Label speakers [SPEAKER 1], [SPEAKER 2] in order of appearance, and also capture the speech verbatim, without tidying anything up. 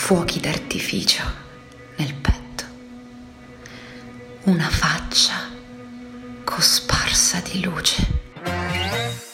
[SPEAKER 1] fuochi d'artificio nel petto, una faccia cosparsa di luce.